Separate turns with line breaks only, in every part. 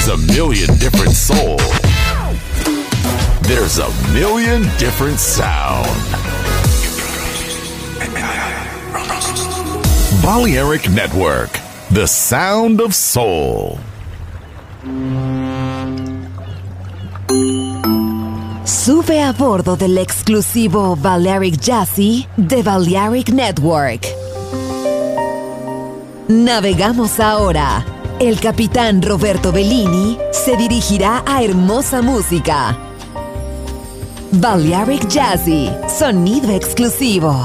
There's a million different soul. There's a million different sound. Balearic Network, the sound of soul.
Sube a bordo del exclusivo Balearic Jazzy de Balearic Network. Navegamos ahora. El capitán Roberto Bellini se dirigirá a hermosa música. Balearic Jazzy, sonido exclusivo.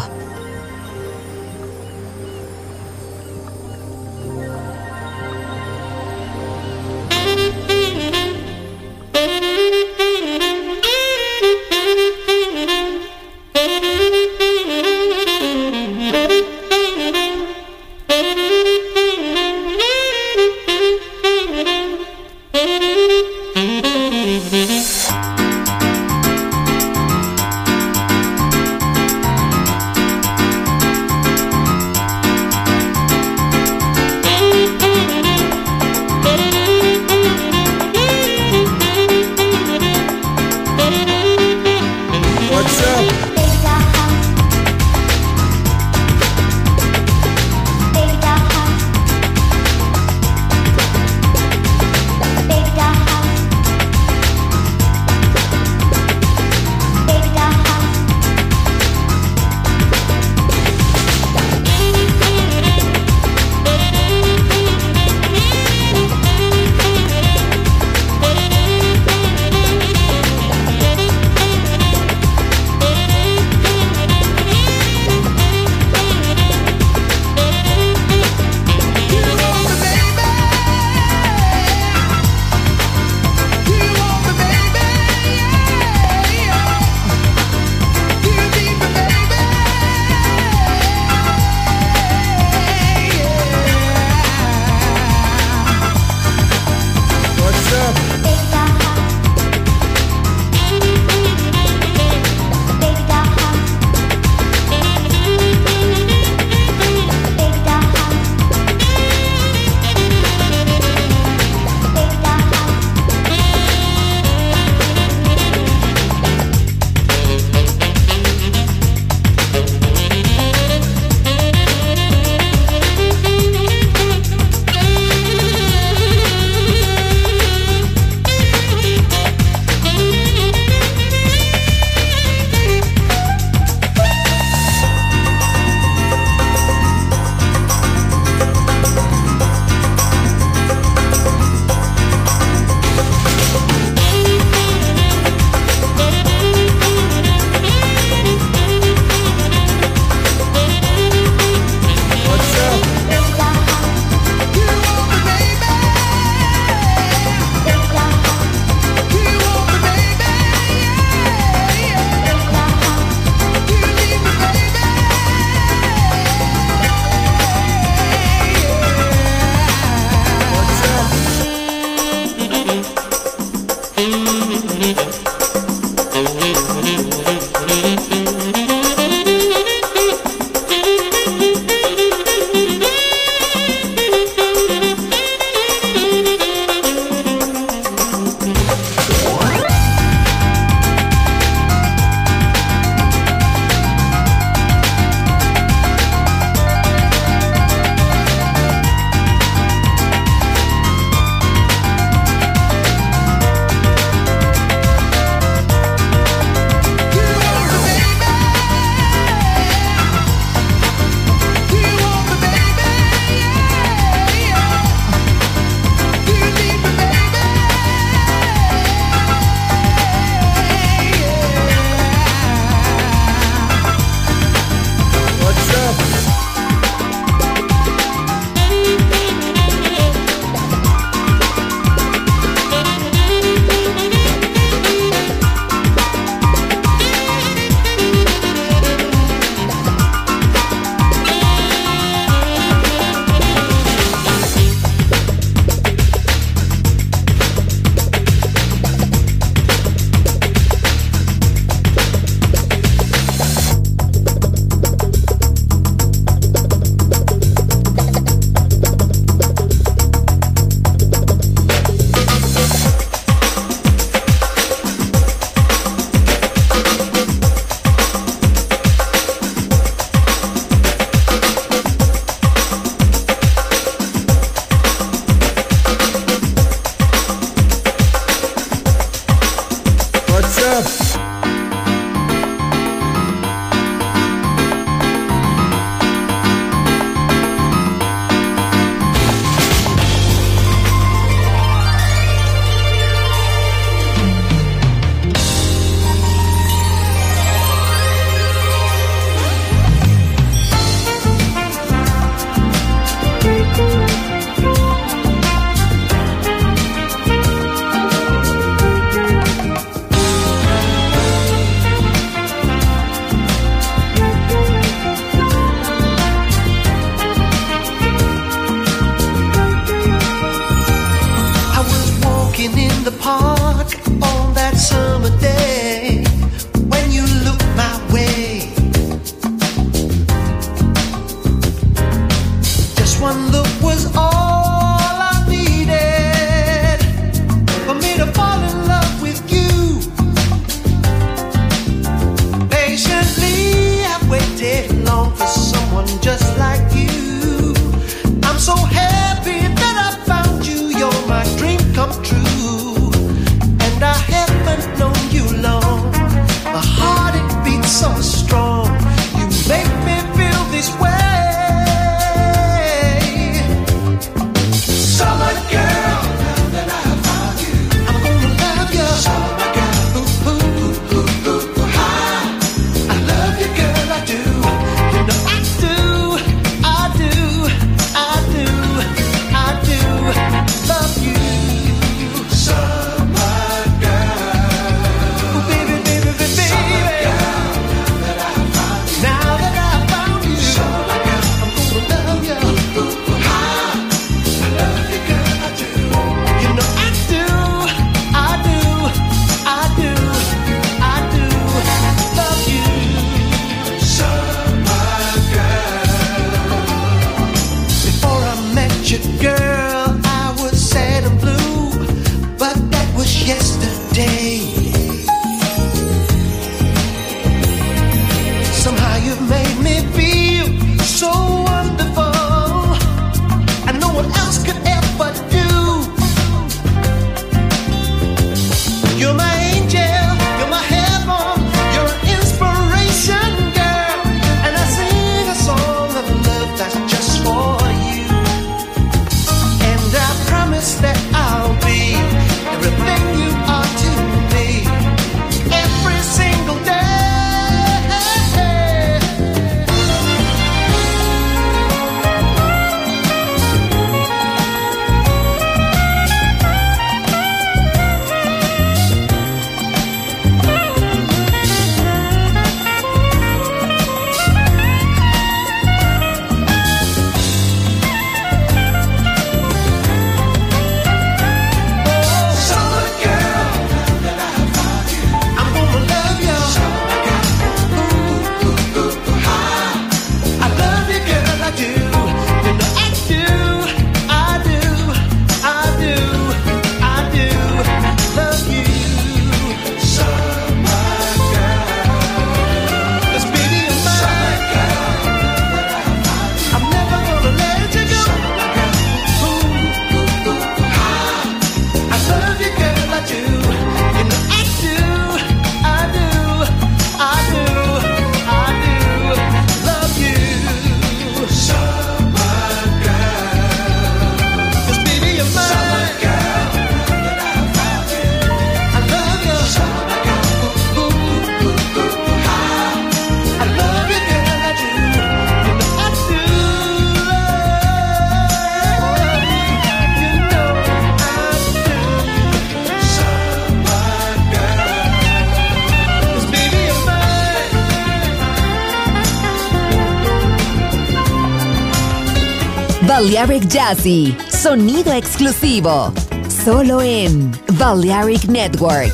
Balearic Jazzy, sonido exclusivo, solo en Balearic Network.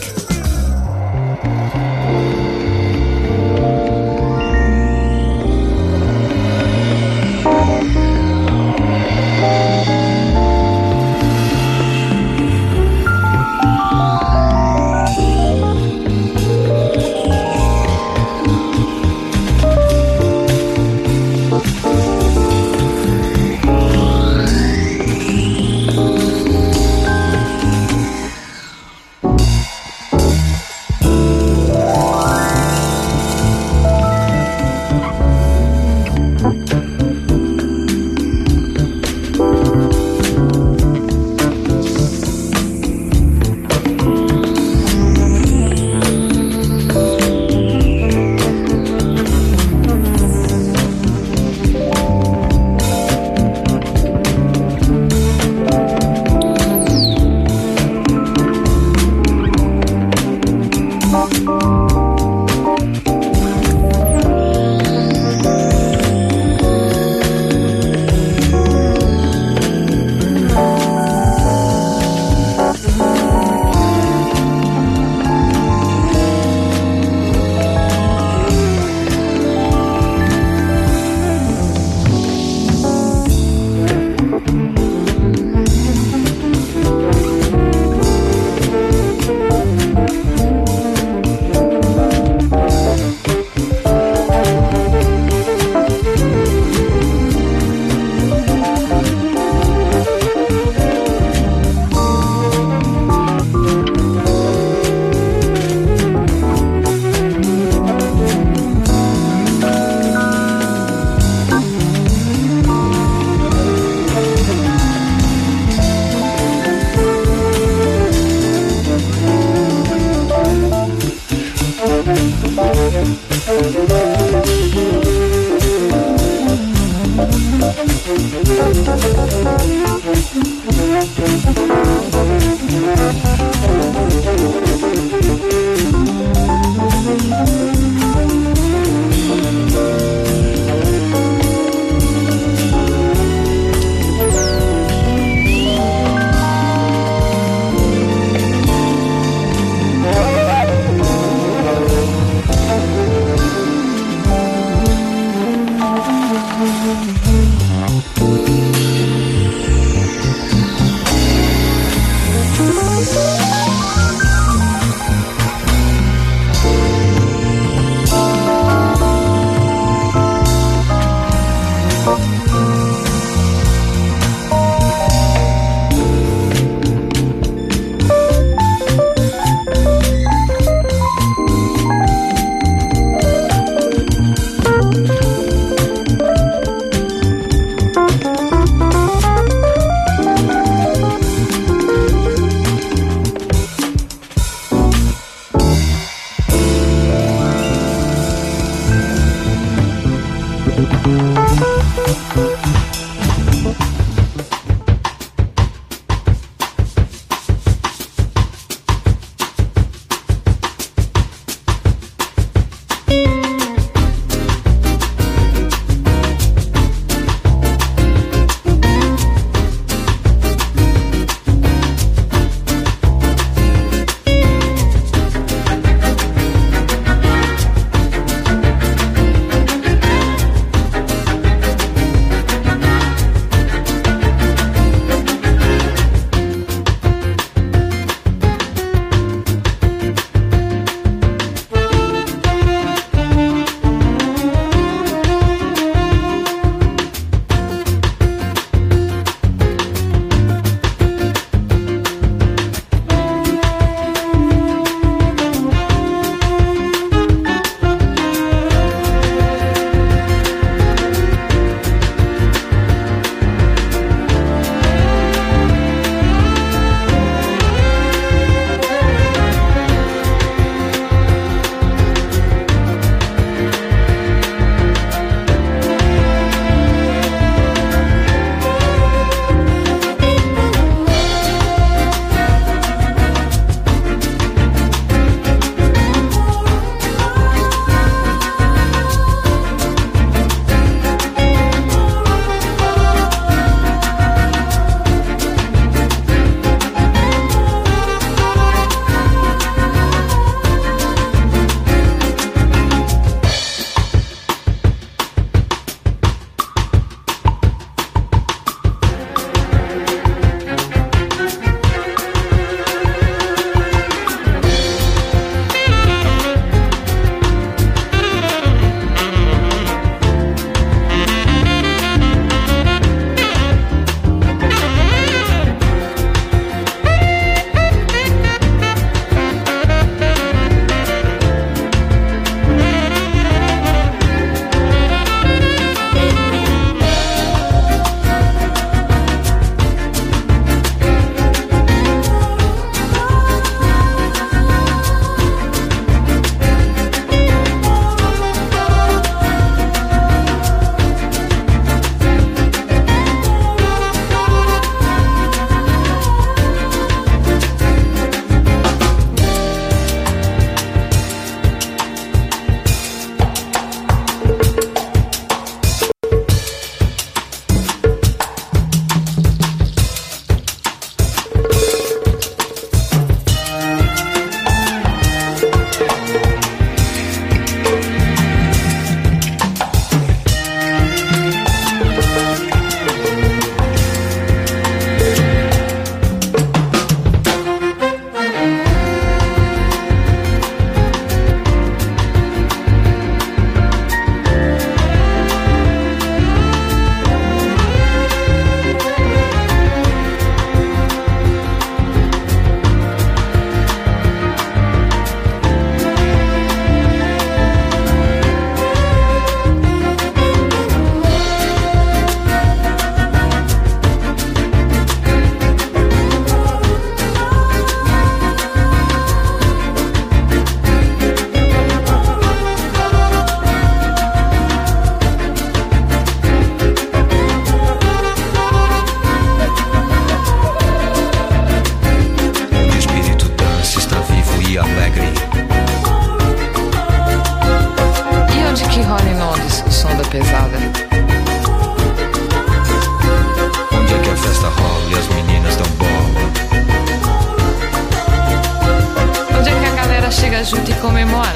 chega junto e comemora.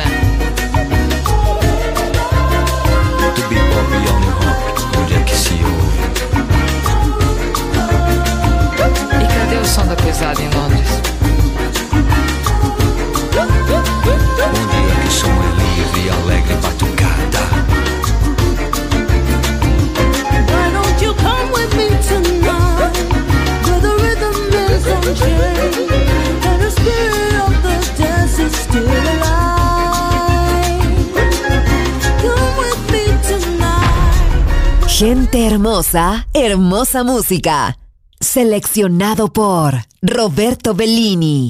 Do bebop e ao new rock, onde é que se ouve?
E cadê o som da pesada em Londres?
Onde é que o som é livre e alegre batucada?
Why don't you come with me tonight, where the rhythm is unchained, and the spirit of the dance is still alive. Come with me tonight.
Gente hermosa, hermosa música. Seleccionado por Roberto Bellini.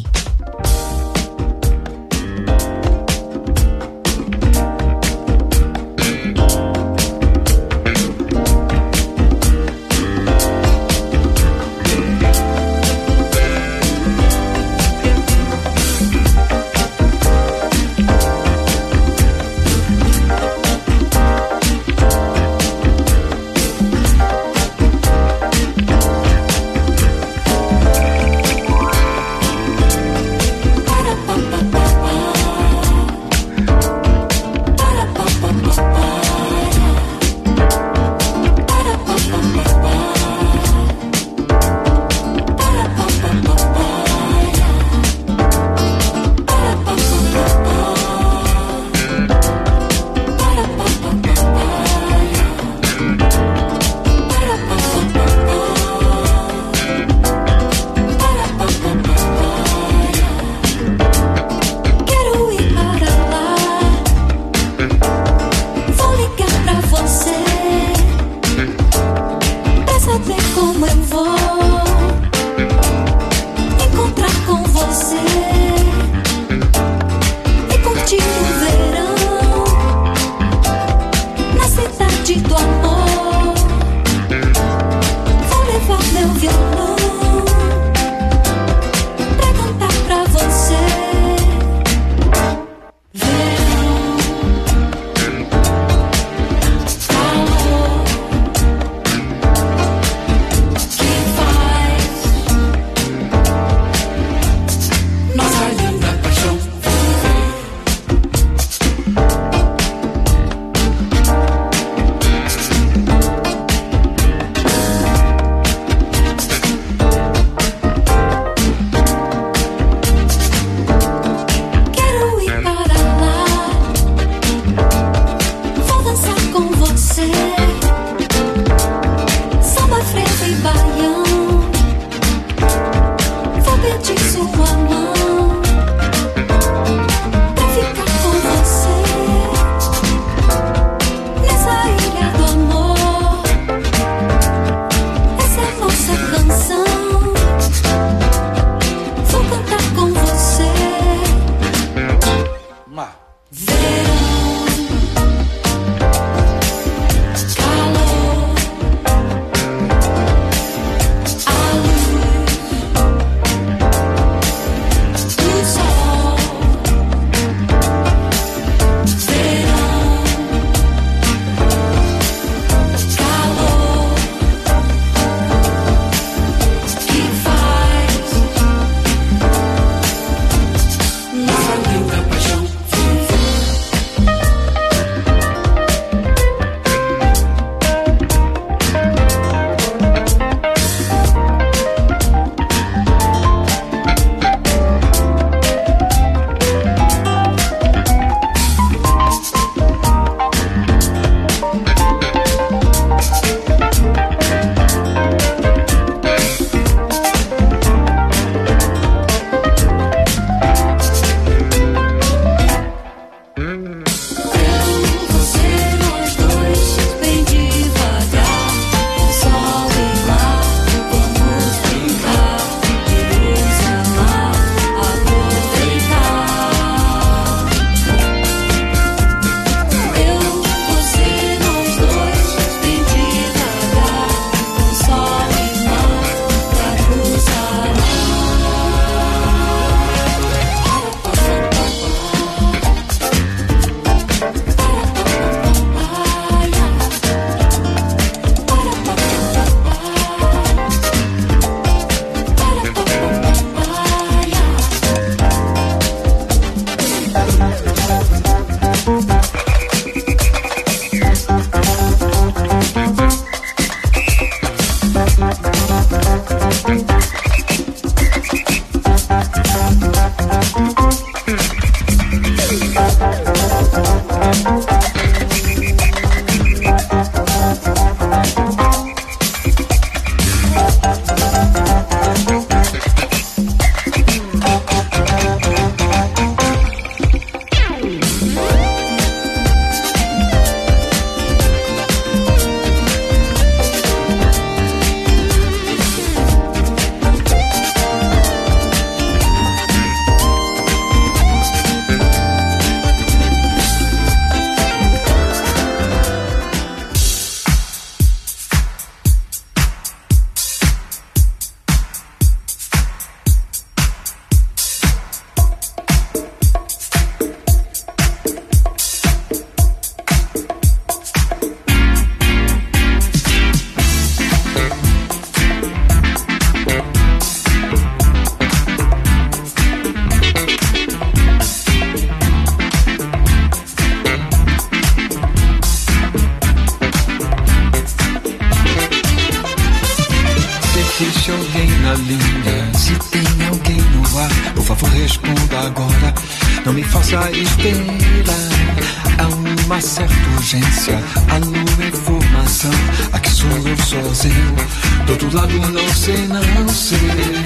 favor responda agora, não me faça esperar. Há uma certa urgência, alô, informação. Aqui sou eu sozinho, do outro lado não sei, não sei.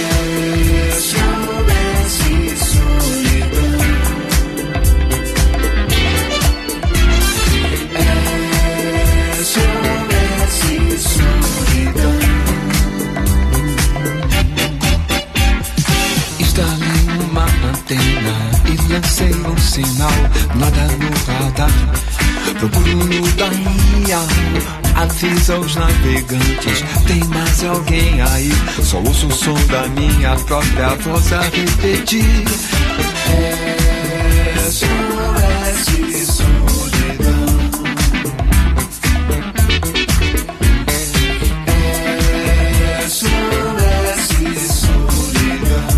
Soubesse solidão, soubesse solidão. Instalei uma antena e lancei um sinal, nada no radar. Procuro no dial, avisa os navegantes, tem mais alguém aí? Só ouço o som da minha própria voz a repetir. SOS solidão. SOS solidão.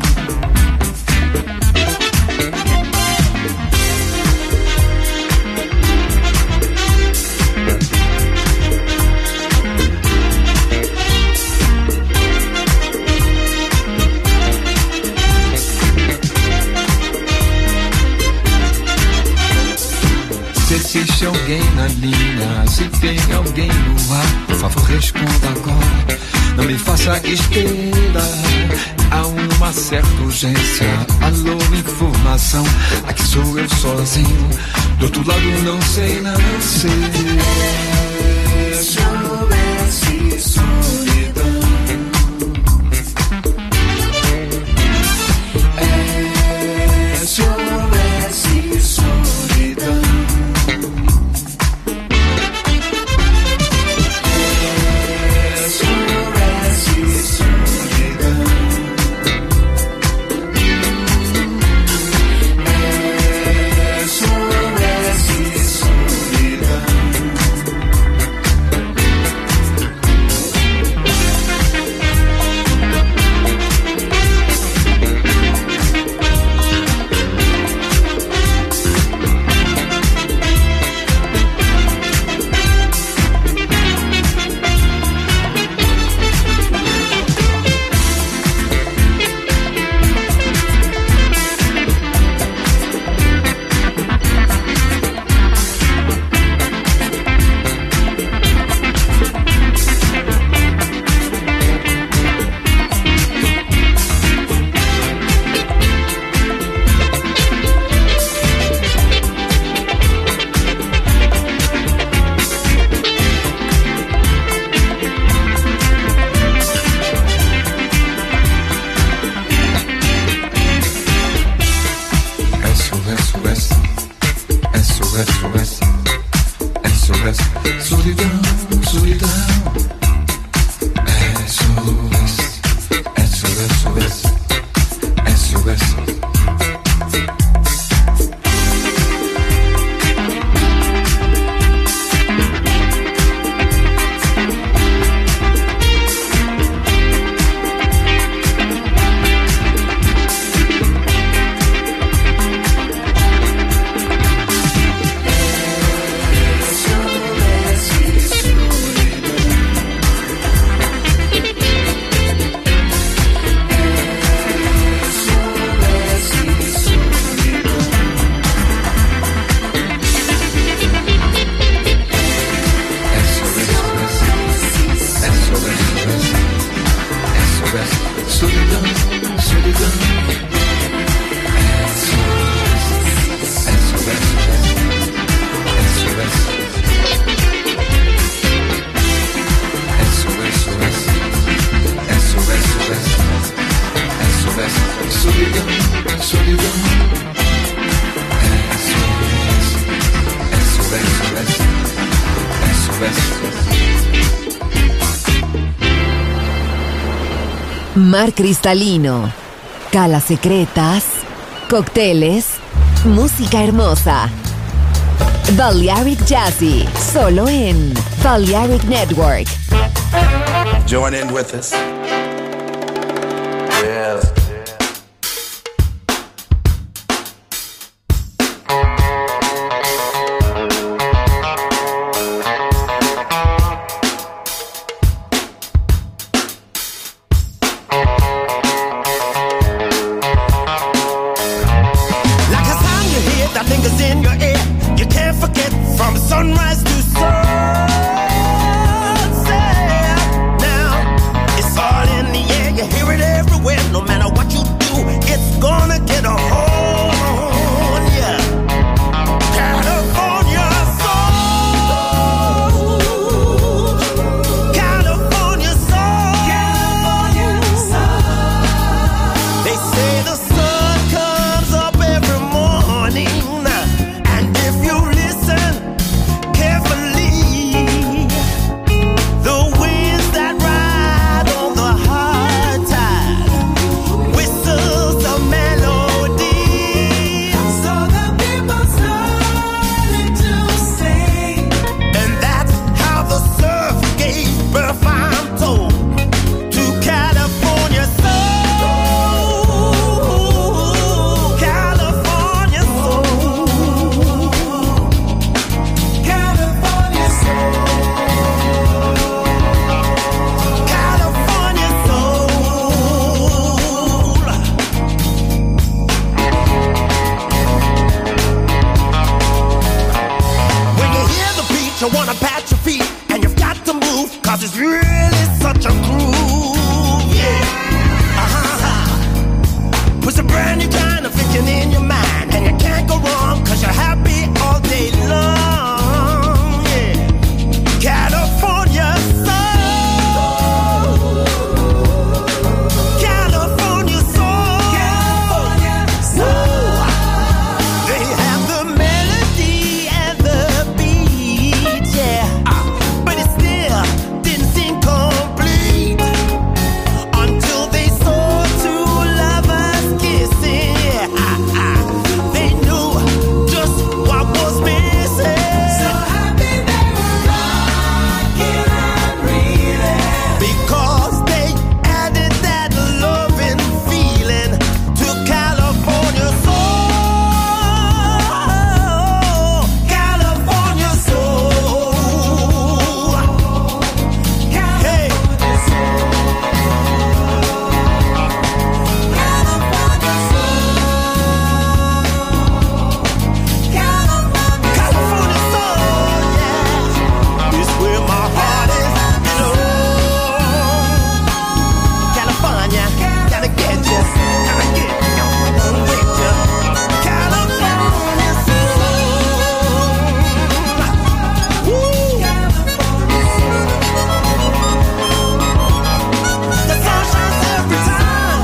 Se existe alguém na linha, se tem alguém no ar, por favor responda agora, não me faça esperar. Há uma certa urgência, alô, informação. Aqui sou eu sozinho, do outro lado não sei, não sei. Soubesse solidão, soubesse solidão.
Mar cristalino, calas secretas, cócteles, música hermosa. Balearic Jazzy, solo en Balearic Network.
Join in with us. Yeah.
brand new kind of thinking in your mind, and you can't go wrong 'cause you're happy all day long. Yeah. California soul. California soul. California soul. They have the melody and the beat, yeah. But it still didn't seem complete until they saw two lovers kissing. Yeah. They knew just what was missing. So happy they were rocking and reeling, because they added that loving feeling to California soul. California soul. Hey. California soul, yeah. It's where my heart is, you know. California, gotta get you, gotta get you, gonna get you. California soul. Woo. The sun shines every time.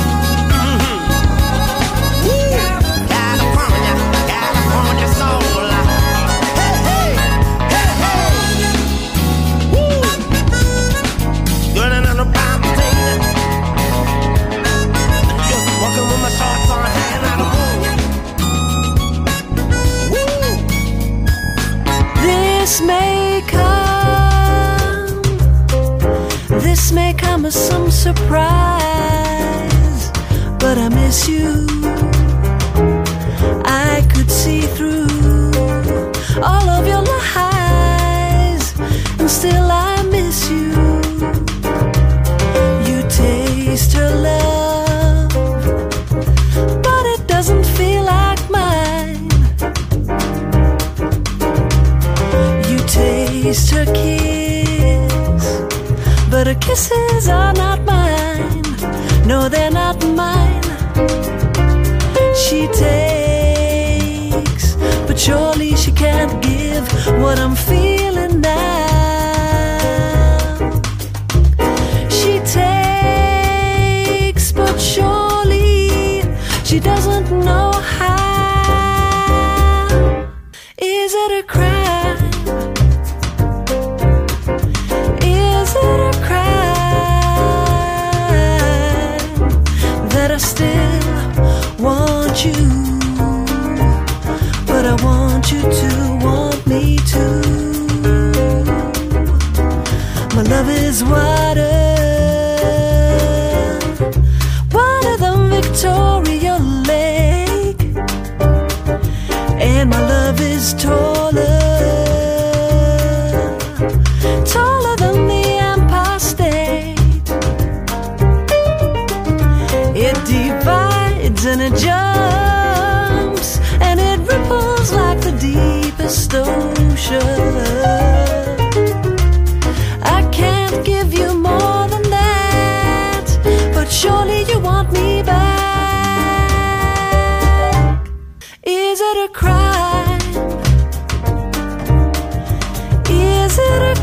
Woo. California, California soul. Hey, hey, hey, hey. Woo. Good and on the bottom thing. Just walking with my shorts on, hanging out the moon. Woo.
This may come as some surprise, but I miss you. I could see through all of your lies, and still I miss you. You taste her love, but it doesn't feel like mine. You taste her kiss, but her kisses are not mine. No, they're not mine. She takes, but surely she can't give what I'm feeling now. She takes, but surely she doesn't know how. Is it a crime? Is it a crime that I still want you, but I want you to want me too? My love is wider, wider than Victoria Lake, and my love is taller, taller than the Empire State. It divides and it jumps, and it ripples like the deepest ocean. I can't give you more than that, but surely you want me back. Is it a crime? Is it a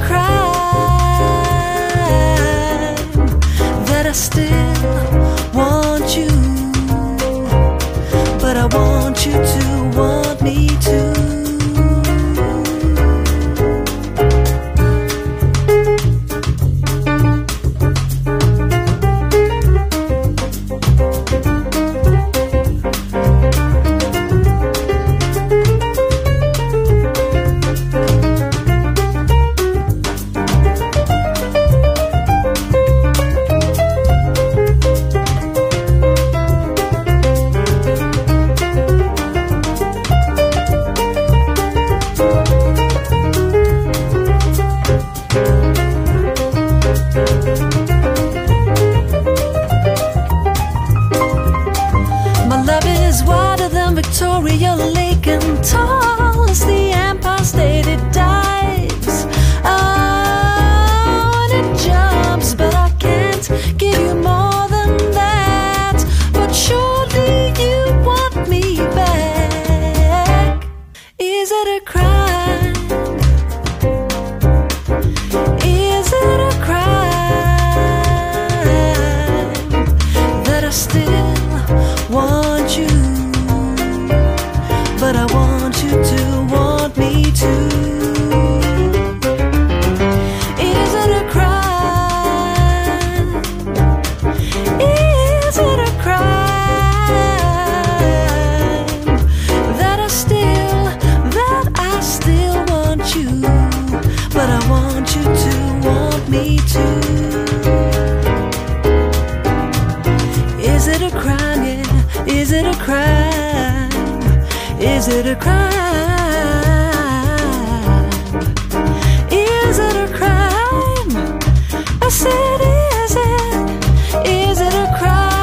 crime that I still want you, but I want you to want me too? Victoria Lake, and tall as the Empire State. It dives, oh, and it jumps, but I can't give you more than that. But surely crime? Is it a crime? Is it a crime? I said, is it a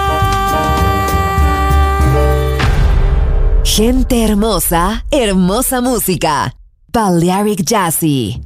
crime?
Gente hermosa, hermosa música. Balearic Jazzy.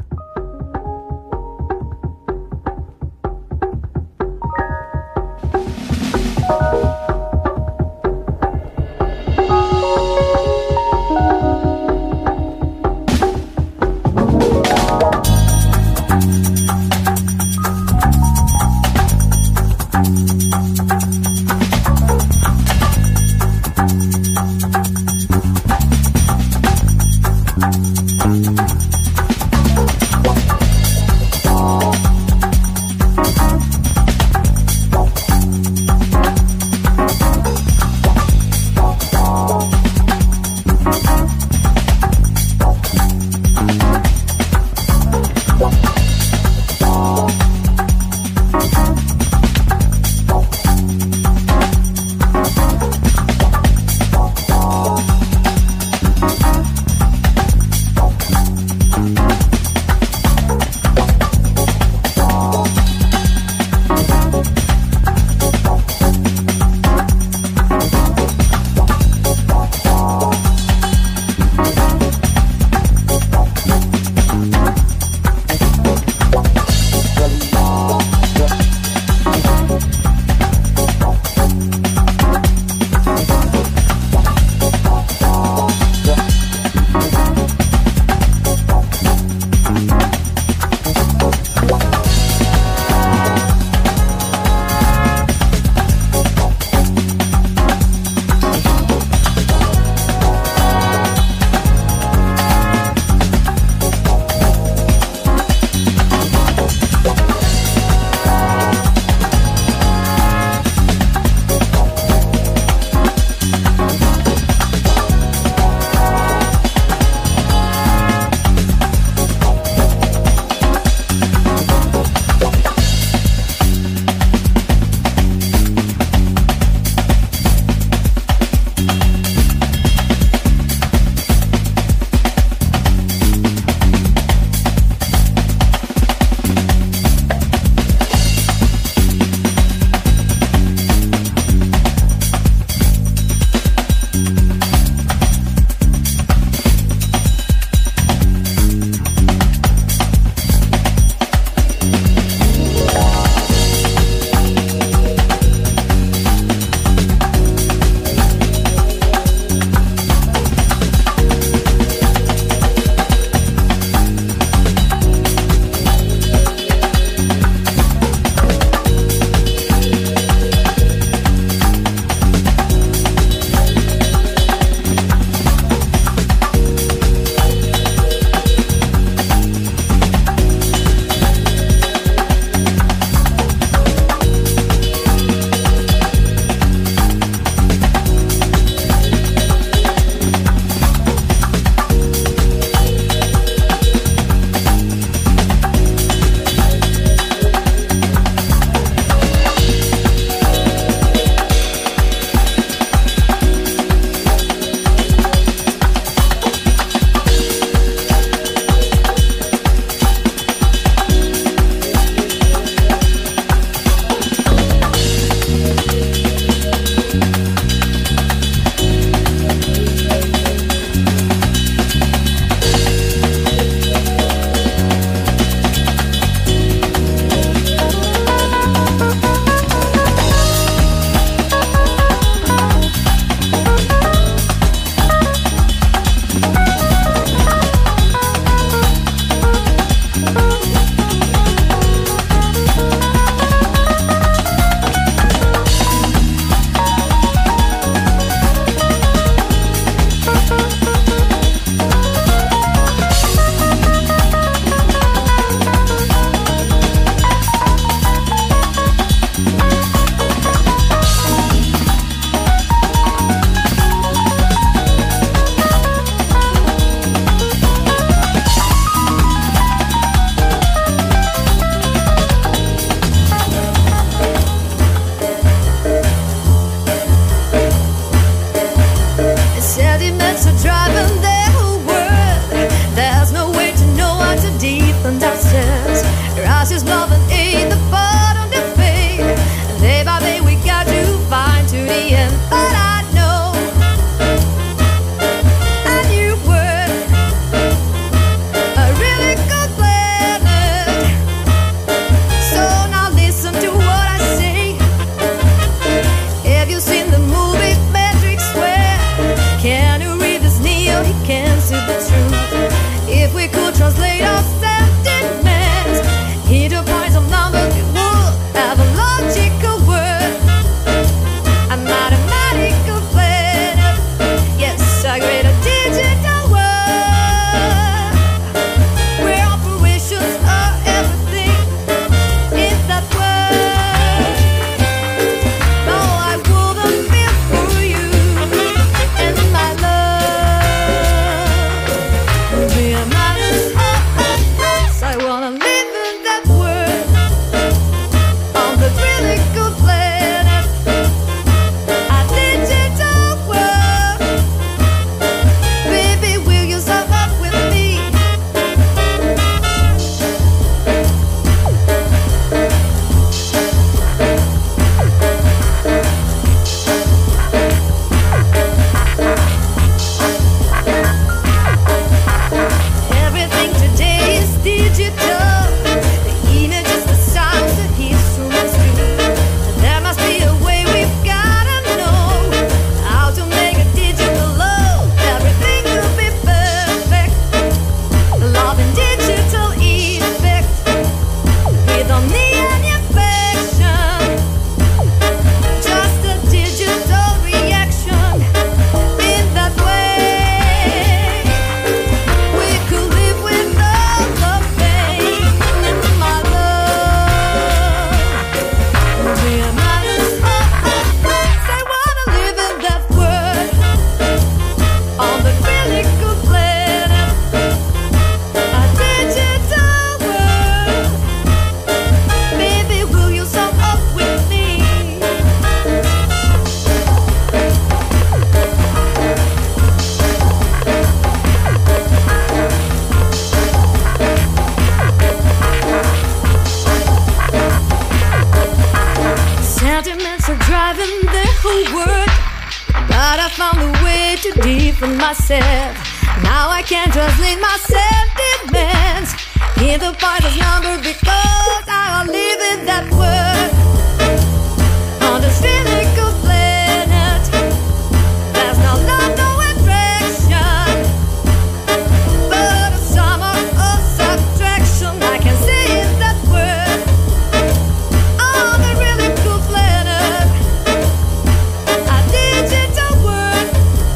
Thought I found a way to defend myself. Now I can't translate my sentiments in the party's number because I live in that world. On the cynical planet, there's no love, no attraction, but a summer of subtraction. I can see in that world. On the really cool planet, a digital world.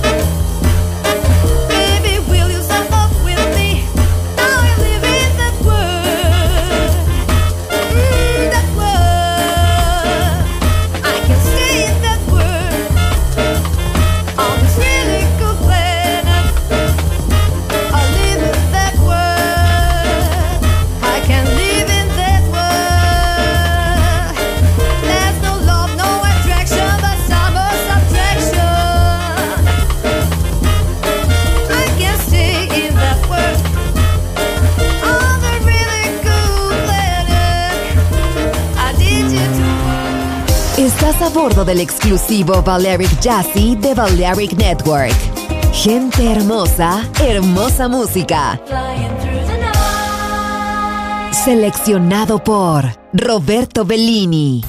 Baby, will you step up with me? Now I live in that world. That world. I can stay in that world. On this really cool planet, I live in that world. I can live in that world. There's no love, no attraction, but summer subtraction. I can stay in that world. On the really cool planet, I did you to.
Estás a bordo del exclusivo Balearic Jazzy de Balearic Network. Gente hermosa, hermosa música.
Flying through the night.
Seleccionado por Roberto Bellini.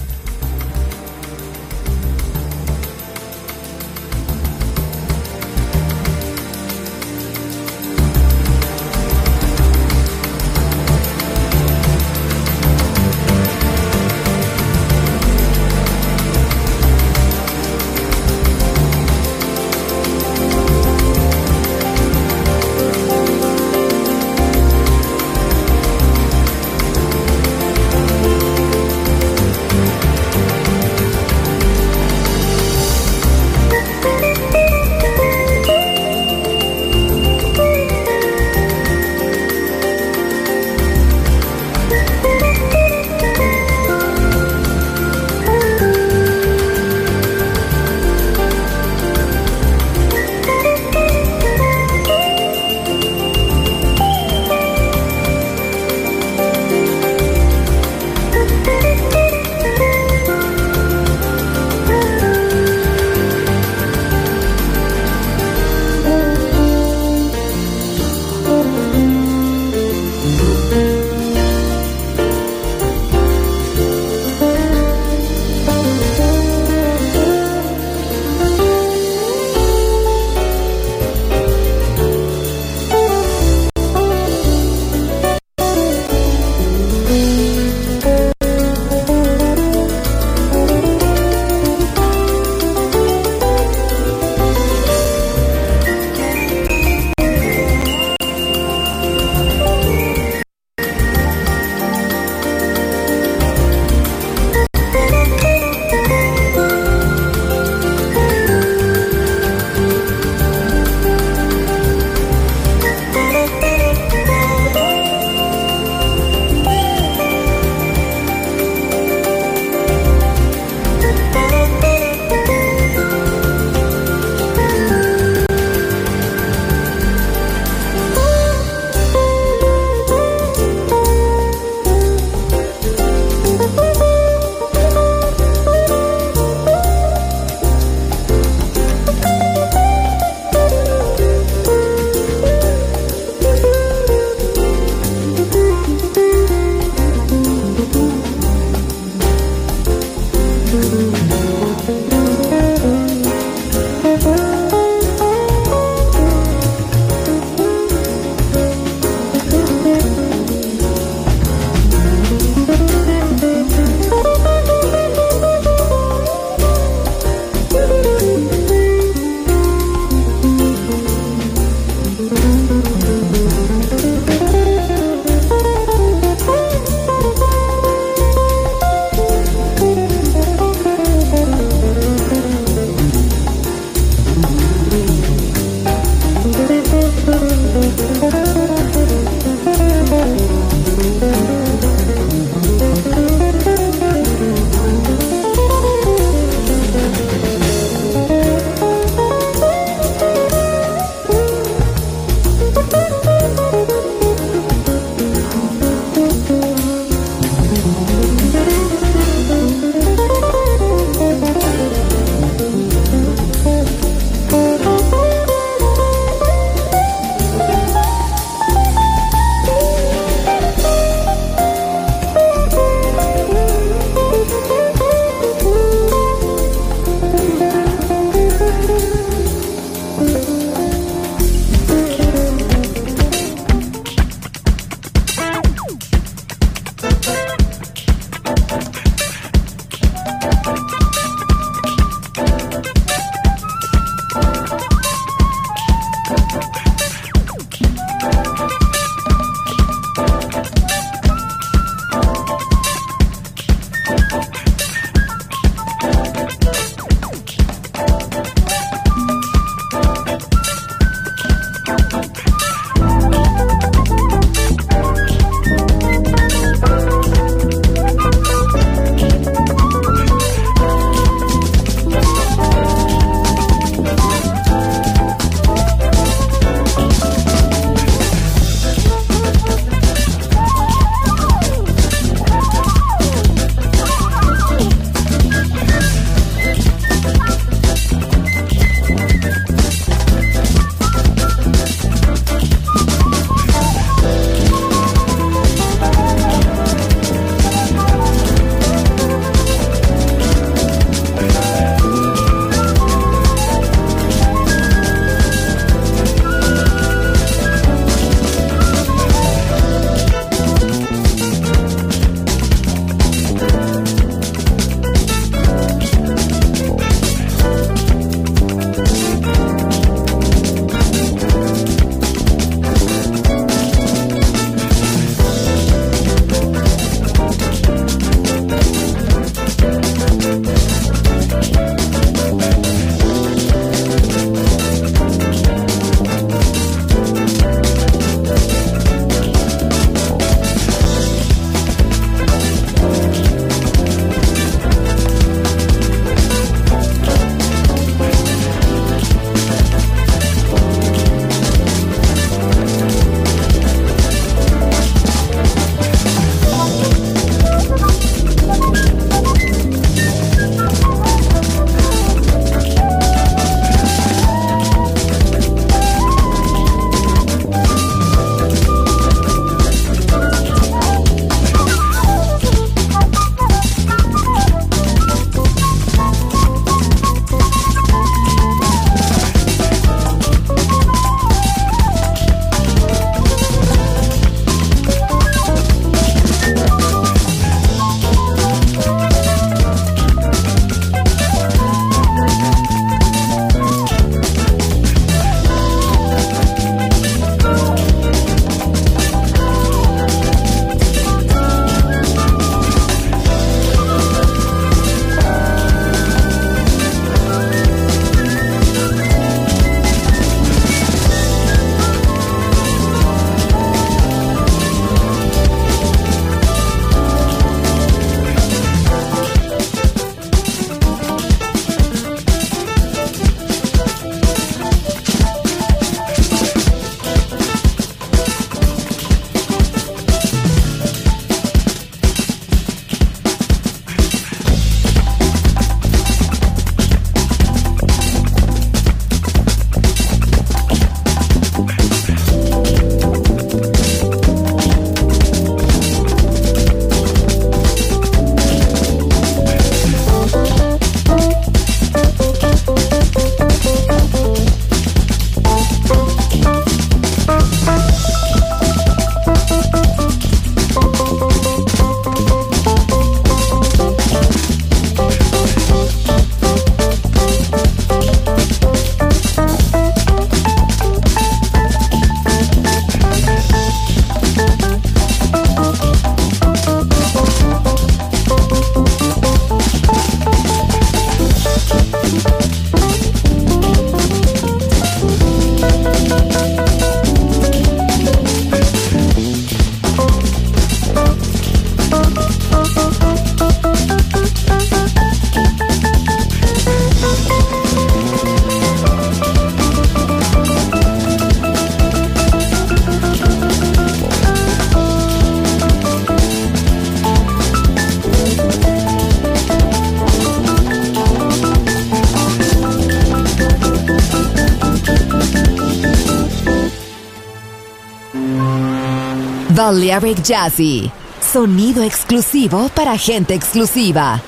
Balearic Jazzy. Sonido exclusivo para gente exclusiva.